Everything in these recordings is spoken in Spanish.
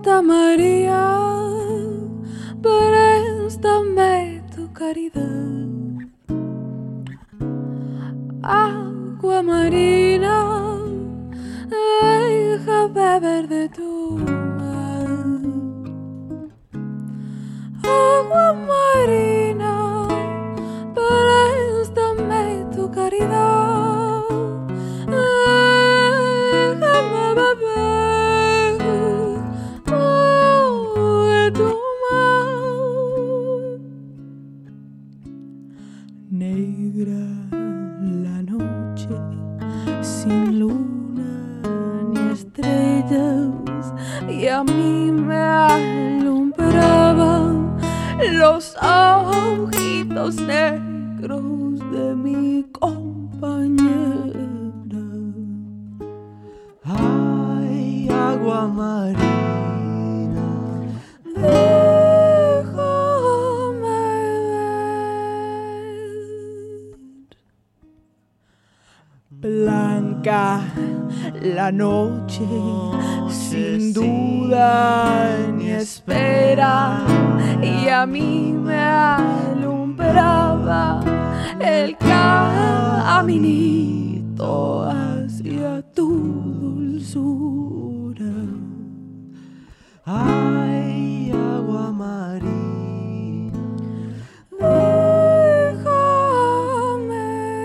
Santa María, préstame tu caridad. Agua marina, deja beber de tu mar. Agua marina, préstame tu caridad. Déjame beber de tu mar. Negra la noche, sin luna ni estrellas, y a mí me alumbraban los ojitos negros de mi compañera. Ay, agua marina, déjame ver. Blanca la noche, sin duda ni espera, y a mí me alumbraba el caminito hacia tu dulzura. ay, agua marina, déjame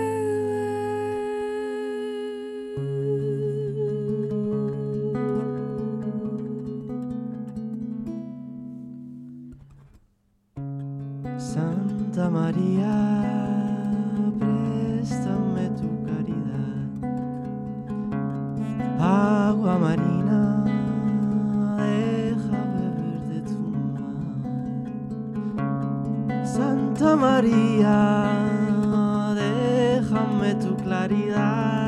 Santa María, préstame tu caridad. Agua marina, deja beber de tu mar. Santa María, déjame tu claridad.